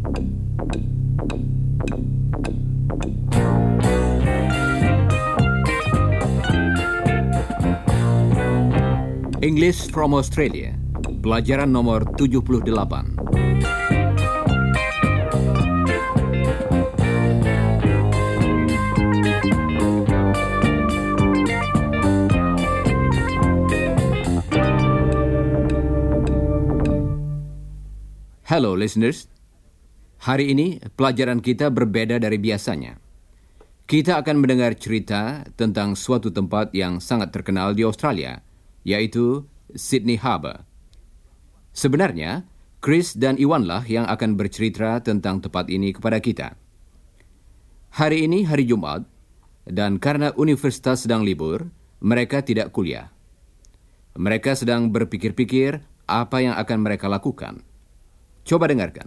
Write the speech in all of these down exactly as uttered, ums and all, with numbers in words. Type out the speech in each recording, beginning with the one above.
English from Australia, pelajaran nomor tujuh puluh delapan. Hello listeners, hari ini pelajaran kita berbeda dari biasanya. Kita akan mendengar cerita tentang suatu tempat yang sangat terkenal di Australia, yaitu Sydney Harbour. Sebenarnya, Chris dan Iwanlah yang akan bercerita tentang tempat ini kepada kita. Hari ini hari Jumat, dan karena universitas sedang libur, mereka tidak kuliah. Mereka sedang berpikir-pikir apa yang akan mereka lakukan. Coba dengarkan.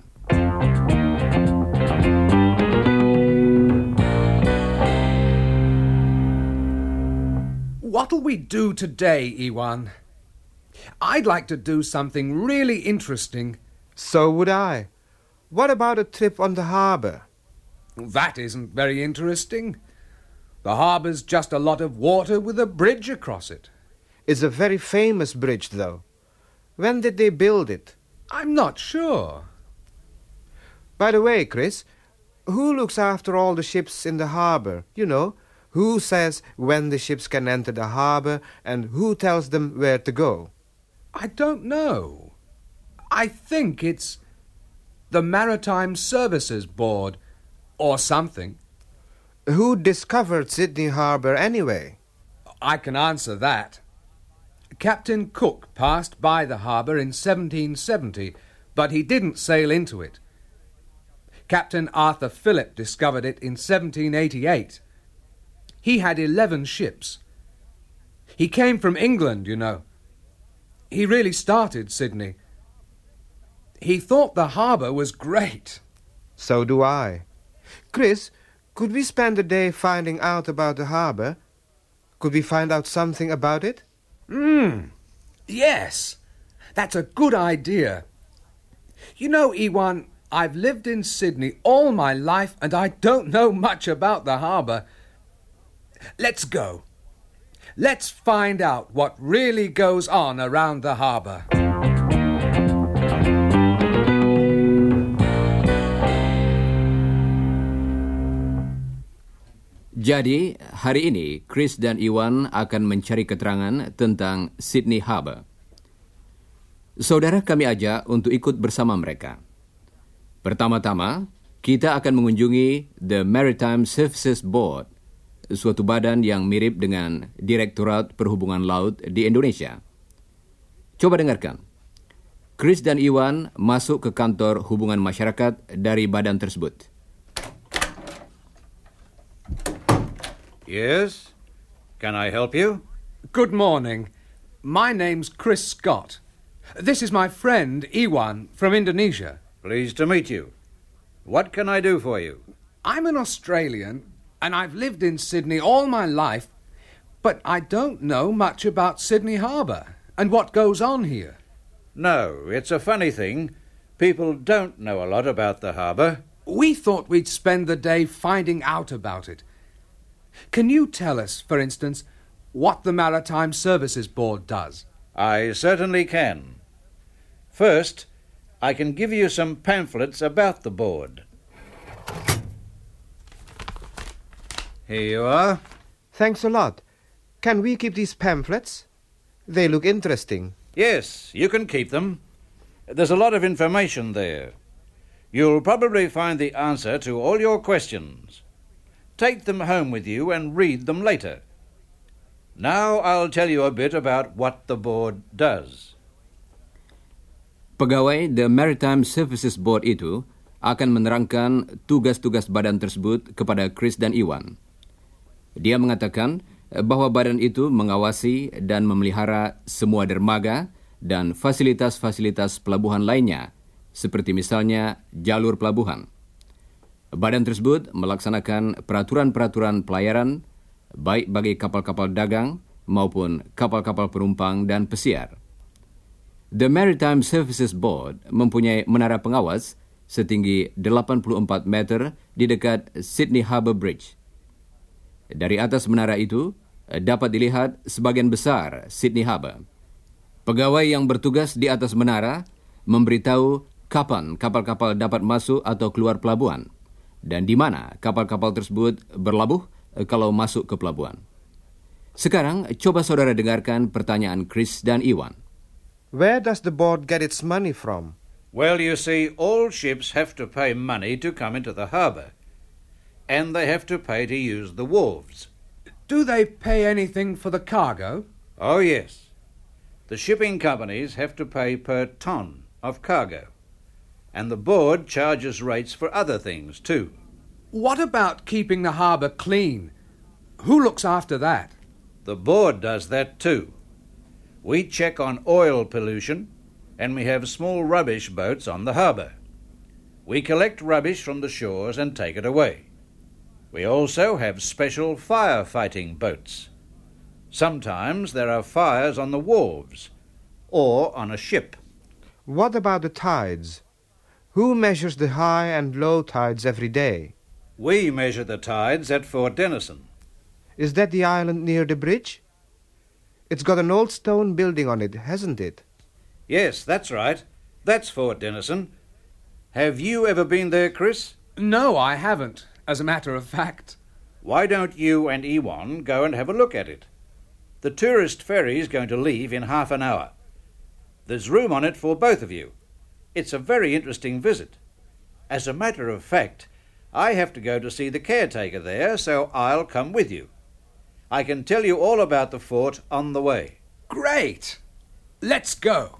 What'll we do today, Iwan? I'd like to do something really interesting. So would I. What about a trip on the harbour? That isn't very interesting. The harbour's just a lot of water with a bridge across it. It's a very famous bridge, though. When did they build it? I'm not sure. By the way, Chris, who looks after all the ships in the harbour? You know, who says when the ships can enter the harbour and who tells them where to go? I don't know. I think it's the Maritime Services Board or something. Who discovered Sydney Harbour anyway? I can answer that. Captain Cook passed by the harbour in seventeen seventy, but he didn't sail into it. Captain Arthur Phillip discovered it in seventeen eighty-eight. He had eleven ships. He came from England, you know. He really started Sydney. He thought the harbour was great. So do I. Chris, could we spend the day finding out about the harbour? Could we find out something about it? Hmm, yes. That's a good idea. You know, Iwan, I've lived in Sydney all my life and I don't know much about the harbour. Let's go. Let's find out what really goes on around the harbour. Jadi, hari ini Chris dan Iwan akan mencari keterangan tentang Sydney Harbour. Saudara kami ajak untuk ikut bersama mereka. Pertama-tama, kita akan mengunjungi The Maritime Services Board, suatu badan yang mirip dengan Direktorat Perhubungan Laut di Indonesia. Coba dengarkan. Chris dan Iwan masuk ke kantor hubungan masyarakat dari badan tersebut. Yes? Can I help you? Good morning. My name's Chris Scott. This is my friend Iwan from Indonesia. Pleased to meet you. What can I do for you? I'm an Australian and I've lived in Sydney all my life, but I don't know much about Sydney Harbour and what goes on here. No, it's a funny thing. People don't know a lot about the harbour. We thought we'd spend the day finding out about it. Can you tell us, for instance, what the Maritime Services Board does? I certainly can. First, I can give you some pamphlets about the board. Here you are. Thanks a lot. Can we keep these pamphlets? They look interesting. Yes, you can keep them. There's a lot of information there. You'll probably find the answer to all your questions. Take them home with you and read them later. Now I'll tell you a bit about what the board does. Pegawai The Maritime Services Board itu akan menerangkan tugas-tugas badan tersebut kepada Chris dan Iwan. Dia mengatakan bahwa badan itu mengawasi dan memelihara semua dermaga dan fasilitas-fasilitas pelabuhan lainnya, seperti misalnya jalur pelabuhan. Badan tersebut melaksanakan peraturan-peraturan pelayaran, baik bagi kapal-kapal dagang maupun kapal-kapal penumpang dan pesiar. The Maritime Services Board mempunyai menara pengawas setinggi delapan puluh empat meter di dekat Sydney Harbour Bridge. Dari atas menara itu, dapat dilihat sebagian besar Sydney Harbour. Pegawai yang bertugas di atas menara memberitahu kapan kapal-kapal dapat masuk atau keluar pelabuhan dan di mana kapal-kapal tersebut berlabuh kalau masuk ke pelabuhan. Sekarang, coba saudara dengarkan pertanyaan Chris dan Iwan. Where does the board get its money from? Well, you see, all ships have to pay money to come into the harbour, and they have to pay to use the wharves. Do they pay anything for the cargo? Oh, yes. The shipping companies have to pay per ton of cargo, and the board charges rates for other things too. What about keeping the harbour clean? Who looks after that? The board does that too. We check on oil pollution, and we have small rubbish boats on the harbour. We collect rubbish from the shores and take it away. We also have special firefighting boats. Sometimes there are fires on the wharves or on a ship. What about the tides? Who measures the high and low tides every day? We measure the tides at Fort Denison. Is that the island near the bridge? It's got an old stone building on it, hasn't it? Yes, that's right. That's Fort Denison. Have you ever been there, Chris? No, I haven't, as a matter of fact. Why don't you and Ewan go and have a look at it? The tourist ferry's going to leave in half an hour. There's room on it for both of you. It's a very interesting visit. As a matter of fact, I have to go to see the caretaker there, so I'll come with you. I can tell you all about the fort on the way. Great! Let's go!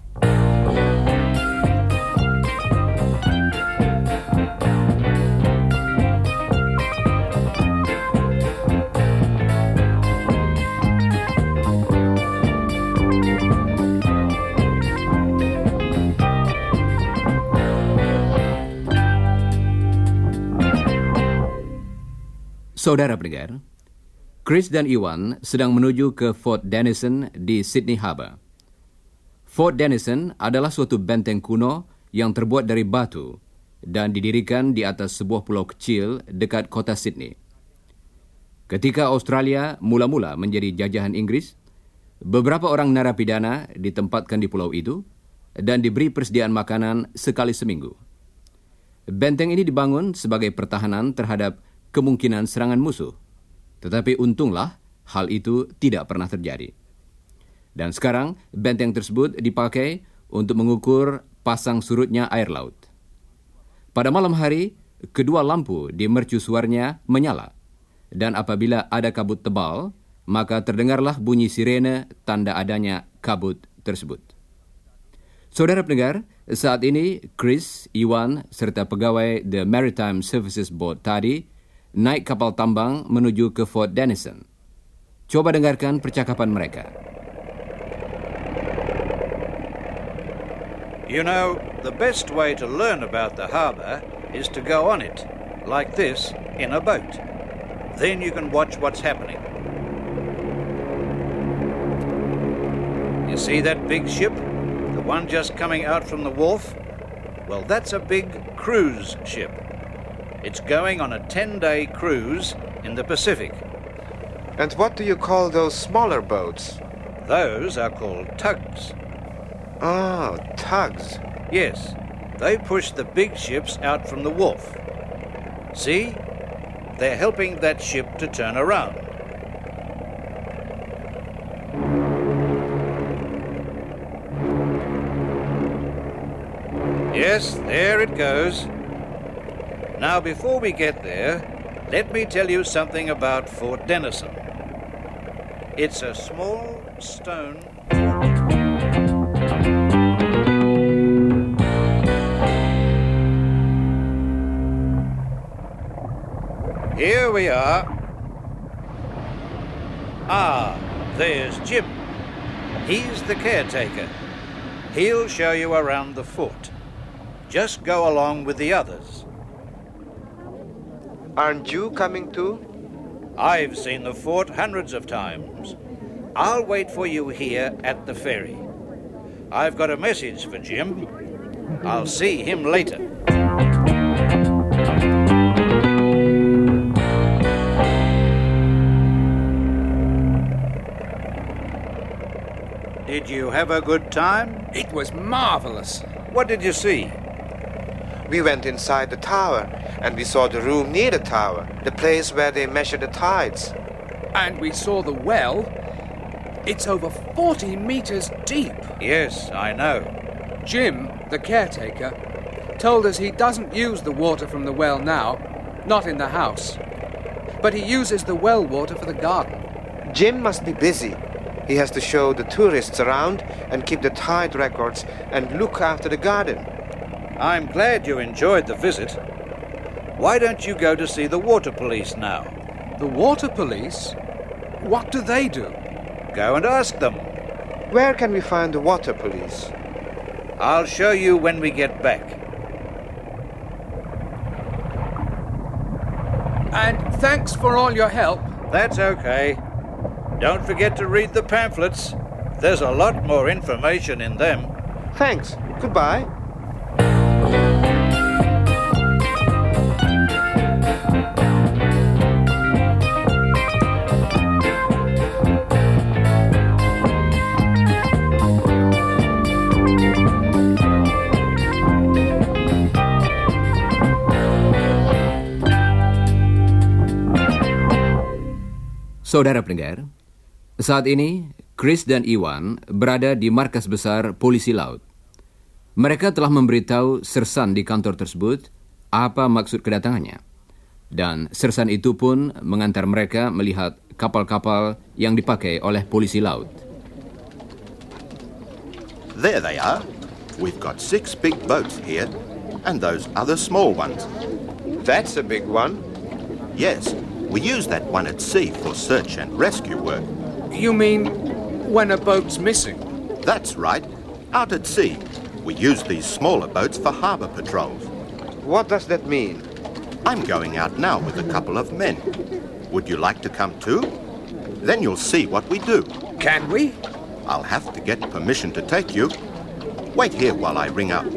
Saudara pendengar, Chris dan Iwan sedang menuju ke Fort Denison di Sydney Harbour. Fort Denison adalah suatu benteng kuno yang terbuat dari batu dan didirikan di atas sebuah pulau kecil dekat kota Sydney. Ketika Australia mula-mula menjadi jajahan Inggris, beberapa orang narapidana ditempatkan di pulau itu dan diberi persediaan makanan sekali seminggu. Benteng ini dibangun sebagai pertahanan terhadap kemungkinan serangan musuh. Tetapi untunglah hal itu tidak pernah terjadi. Dan sekarang benteng tersebut dipakai untuk mengukur pasang surutnya air laut. Pada malam hari, kedua lampu di mercusuarnya menyala. Dan apabila ada kabut tebal, maka terdengarlah bunyi sirene tanda adanya kabut tersebut. Saudara pendengar, saat ini Chris, Iwan, serta pegawai The Maritime Services Board tadi naik kapal tambang menuju ke Fort Denison. Coba dengarkan percakapan mereka. You know, the best way to learn about the harbour is to go on it, like this, in a boat. Then you can watch what's happening. You see that big ship? The one just coming out from the wharf? Well, that's a big cruise ship. It's going on a ten-day cruise in the Pacific. And what do you call those smaller boats? Those are called tugs. Oh, tugs. Yes, they push the big ships out from the wharf. See? They're helping that ship to turn around. Yes, there it goes. Now, before we get there, let me tell you something about Fort Denison. It's a small stone... Here we are. Ah, there's Jim. He's the caretaker. He'll show you around the fort. Just go along with the others. Aren't you coming too? I've seen the fort hundreds of times. I'll wait for you here at the ferry. I've got a message for Jim. I'll see him later. Did you have a good time? It was marvellous. What did you see? We went inside the tower, and we saw the room near the tower, the place where they measure the tides. And we saw the well. It's over forty metres deep. Yes, I know. Jim, the caretaker, told us he doesn't use the water from the well now, not in the house. But he uses the well water for the garden. Jim must be busy. He has to show the tourists around and keep the tide records and look after the garden. I'm glad you enjoyed the visit. Why don't you go to see the water police now? The water police? What do they do? Go and ask them. Where can we find the water police? I'll show you when we get back. And thanks for all your help. That's okay. Don't forget to read the pamphlets. There's a lot more information in them. Thanks. Goodbye. Saudara pendengar, saat ini Chris dan Iwan berada di markas besar polisi laut. Mereka telah memberitahu sersan di kantor tersebut apa maksud kedatangannya. Dan sersan itu pun mengantar mereka melihat kapal-kapal yang dipakai oleh polisi laut. There they are. We've got six big boats here, and those other small ones. That's a big one. Yes, we use that one at sea for search and rescue work. You mean when a boat's missing? That's right. Out at sea, we use these smaller boats for harbour patrols. What does that mean? I'm going out now with a couple of men. Would you like to come too? Then you'll see what we do. Can we? I'll have to get permission to take you. Wait here while I ring up.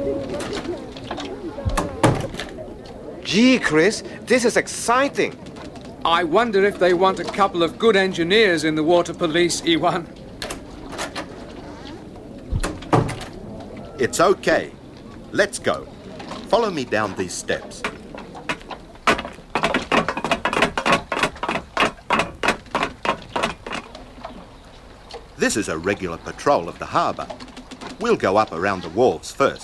Gee, Chris, this is exciting. I wonder if they want a couple of good engineers in the water police, Iwan. It's okay. Let's go. Follow me down these steps. This is a regular patrol of the harbour. We'll go up around the wharves first.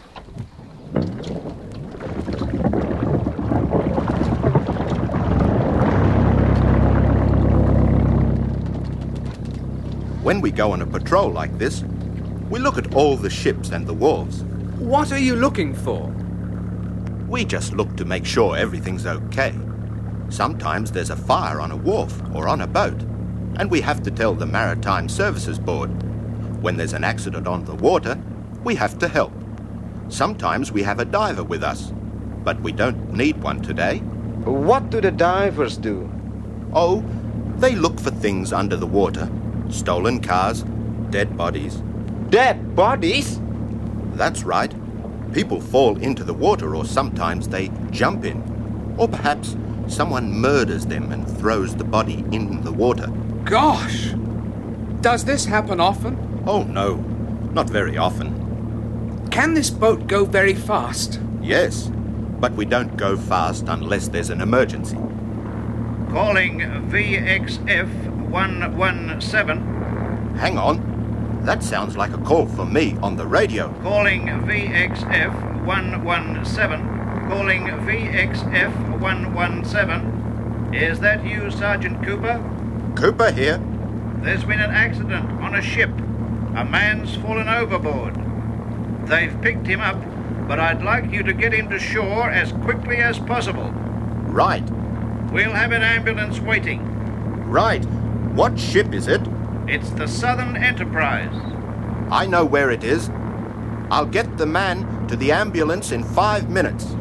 When we go on a patrol like this, we look at all the ships and the wharves. What are you looking for? We just look to make sure everything's okay. Sometimes there's a fire on a wharf or on a boat, and we have to tell the Maritime Services Board. When there's an accident on the water, we have to help. Sometimes we have a diver with us, but we don't need one today. What do the divers do? Oh, they look for things under the water. Stolen cars, dead bodies. Dead bodies? That's right. People fall into the water, or sometimes they jump in. Or perhaps someone murders them and throws the body in the water. Gosh! Does this happen often? Oh, no. Not very often. Can this boat go very fast? Yes, but we don't go fast unless there's an emergency. Calling V X F one one seven. Hang on. That sounds like a call for me on the radio. Calling V X F one one seven. Calling V X F one one seven. Is that you, Sergeant Cooper? Cooper here. There's been an accident on a ship. A man's fallen overboard. They've picked him up, but I'd like you to get him to shore as quickly as possible. Right. We'll have an ambulance waiting. Right. What ship is it? It's the Southern Enterprise. I know where it is. I'll get the man to the ambulance in five minutes.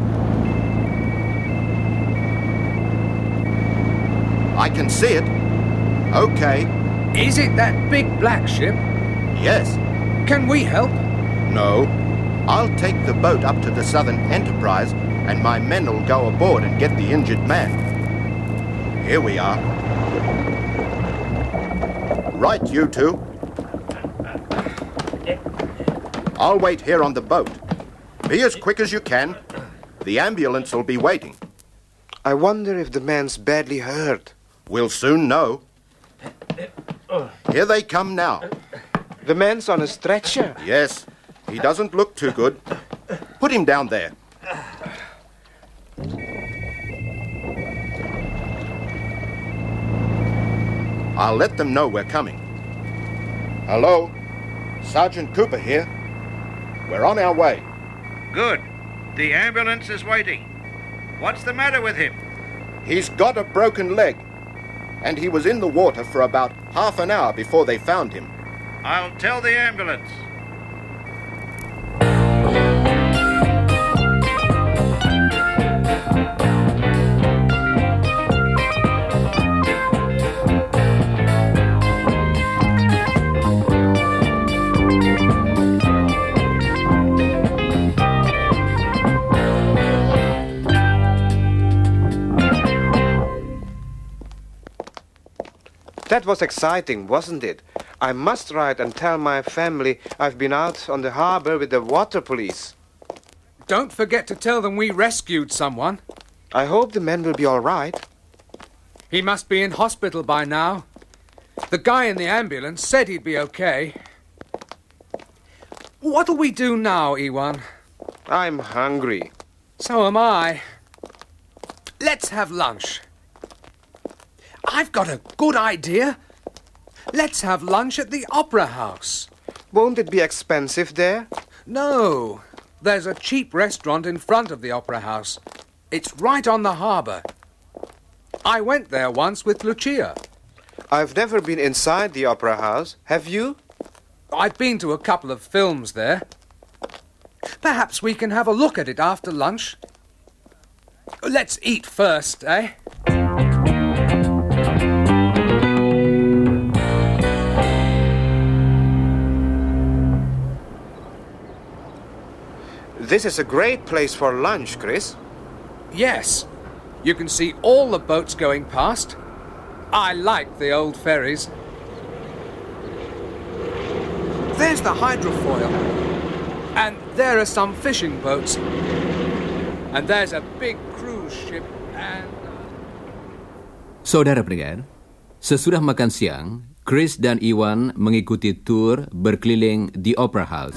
I can see it. Okay. Is it that big black ship? Yes. Can we help? No. I'll take the boat up to the Southern Enterprise and my men will go aboard and get the injured man. Here we are. Right, you two. I'll wait here on the boat. Be as quick as you can. The ambulance will be waiting. I wonder if the man's badly hurt. We'll soon know. Here they come now. The man's on a stretcher. Yes, he doesn't look too good. Put him down there. I'll let them know we're coming. Hello? Sergeant Cooper here. We're on our way. Good. The ambulance is waiting. What's the matter with him? He's got a broken leg. And he was in the water for about half an hour before they found him. I'll tell the ambulance. That was exciting, wasn't it? I must write and tell my family I've been out on the harbor with the water police. Don't forget to tell them we rescued someone. I hope the man will be all right. He must be in hospital by now. The guy in the ambulance said he'd be okay. What'll we do now, Ewan? I'm hungry. So am I. Let's have lunch. I've got a good idea. Let's have lunch at the Opera House. Won't it be expensive there? No. There's a cheap restaurant in front of the Opera House. It's right on the harbour. I went there once with Lucia. I've never been inside the Opera House. Have you? I've been to a couple of films there. Perhaps we can have a look at it after lunch. Let's eat first, eh? This is a great place for lunch, Chris. Yes. You can see all the boats going past. I like the old ferries. There's the hydrofoil. And there are some fishing boats. And there's a big cruise ship and... Saudara pendengar, sesudah makan siang, Chris dan Iwan mengikuti tur berkeliling The Opera House.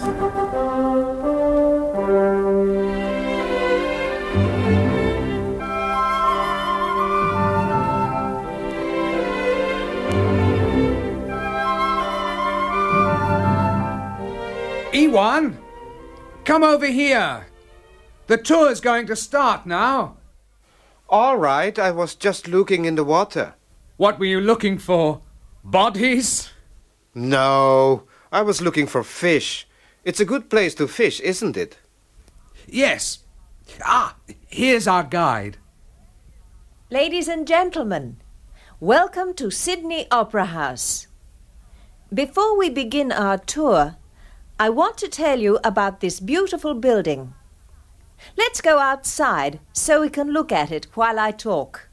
Ewan, come over here. The tour's going to start now. All right, I was just looking in the water. What were you looking for? Bodies? No, I was looking for fish. It's a good place to fish, isn't it? Yes. Ah, here's our guide. Ladies and gentlemen, welcome to Sydney Opera House. Before we begin our tour, I want to tell you about this beautiful building. Let's go outside so we can look at it while I talk.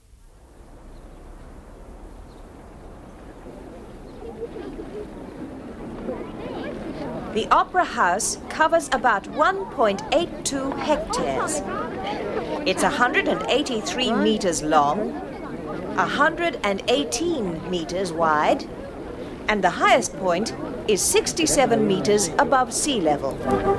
The Opera House covers about one point eight two hectares. It's one hundred eighty-three meters long, one hundred eighteen meters wide, and the highest point is sixty-seven meters above sea level.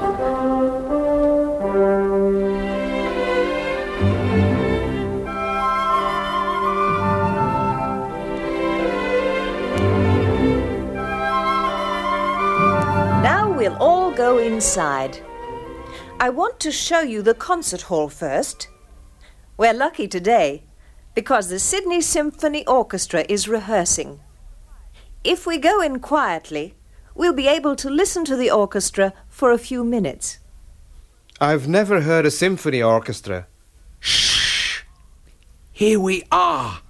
Now we'll all go inside. I want to show you the concert hall first. We're lucky today because the Sydney Symphony Orchestra is rehearsing. If we go in quietly, we'll be able to listen to the orchestra for a few minutes. I've never heard a symphony orchestra. Shh! Here we are.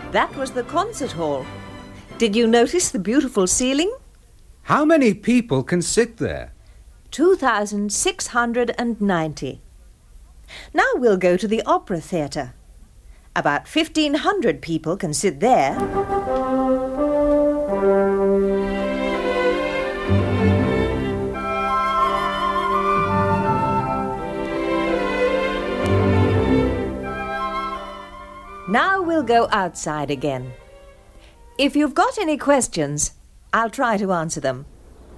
That was the concert hall. Did you notice the beautiful ceiling? How many people can sit there? two thousand six hundred ninety. Now we'll go to the Opera Theatre. About fifteen hundred people can sit there. Now we'll go outside again. If you've got any questions, I'll try to answer them.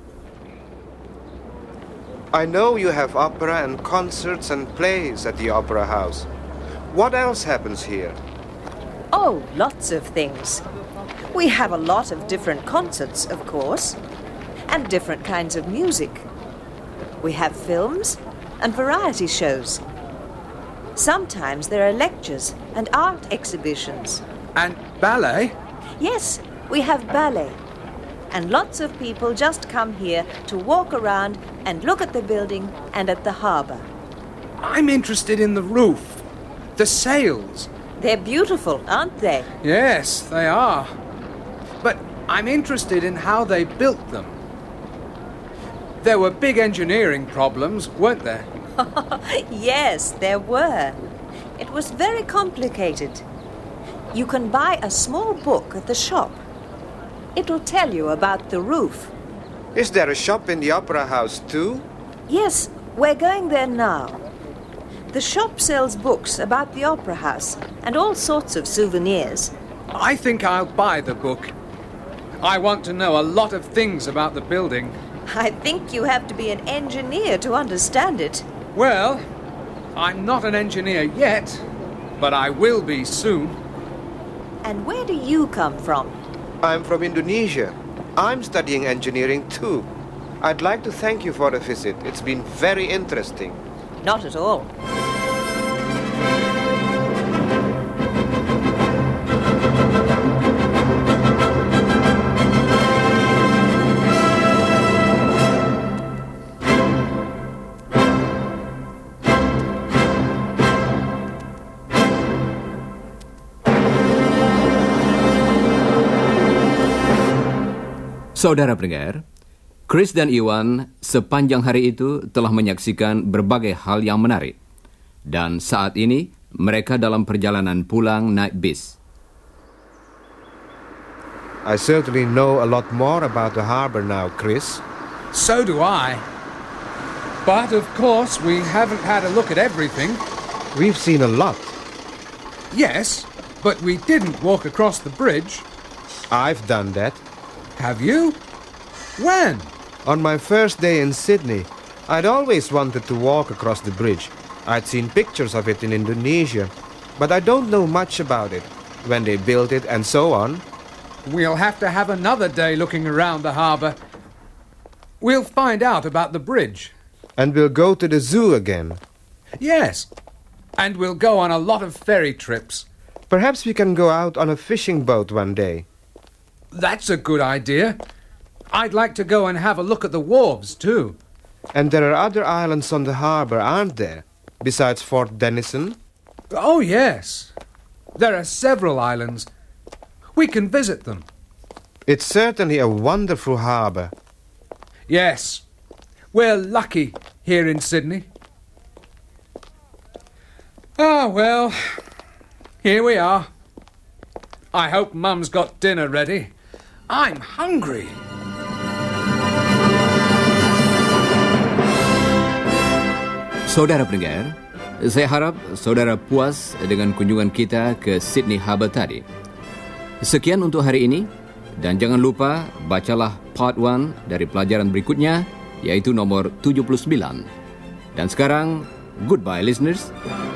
I know you have opera and concerts and plays at the Opera House. What else happens here? Oh, lots of things. We have a lot of different concerts, of course, and different kinds of music. We have films and variety shows. Sometimes there are lectures and art exhibitions. And ballet? Yes, we have ballet. And lots of people just come here to walk around and look at the building and at the harbour. I'm interested in the roof, the sails. They're beautiful, aren't they? Yes, they are. But I'm interested in how they built them. There were big engineering problems, weren't there? Yes, there were. It was very complicated. You can buy a small book at the shop. It'll tell you about the roof. Is there a shop in the Opera House too? Yes, we're going there now. The shop sells books about the Opera House and all sorts of souvenirs. I think I'll buy the book. I want to know a lot of things about the building. I think you have to be an engineer to understand it. Well, I'm not an engineer yet, but I will be soon. And where do you come from? I'm from Indonesia. I'm studying engineering too. I'd like to thank you for the visit. It's been very interesting. Not at all. Saudara pendengar, Chris dan Iwan sepanjang hari itu telah menyaksikan berbagai hal yang menarik. Dan saat ini mereka dalam perjalanan pulang naik bis. I certainly know a lot more about the harbor now, Chris. So do I. But of course, we haven't had a look at everything. We've seen a lot. Yes, but we didn't walk across the bridge. I've done that. Have you? When? On my first day in Sydney, I'd always wanted to walk across the bridge. I'd seen pictures of it in Indonesia, but I don't know much about it, when they built it and so on. We'll have to have another day looking around the harbour. We'll find out about the bridge. And we'll go to the zoo again. Yes, and we'll go on a lot of ferry trips. Perhaps we can go out on a fishing boat one day. That's a good idea. I'd like to go and have a look at the wharves, too. And there are other islands on the harbour, aren't there? Besides Fort Denison? Oh, yes. There are several islands. We can visit them. It's certainly a wonderful harbour. Yes. We're lucky here in Sydney. Ah, well, here we are. I hope Mum's got dinner ready. I'm hungry. Saudara pendengar, saya harap saudara puas dengan kunjungan kita ke Sydney Harbour tadi. Sekian untuk hari ini, dan jangan lupa bacalah part one dari pelajaran berikutnya, yaitu nomor tujuh puluh sembilan. Dan sekarang, goodbye listeners.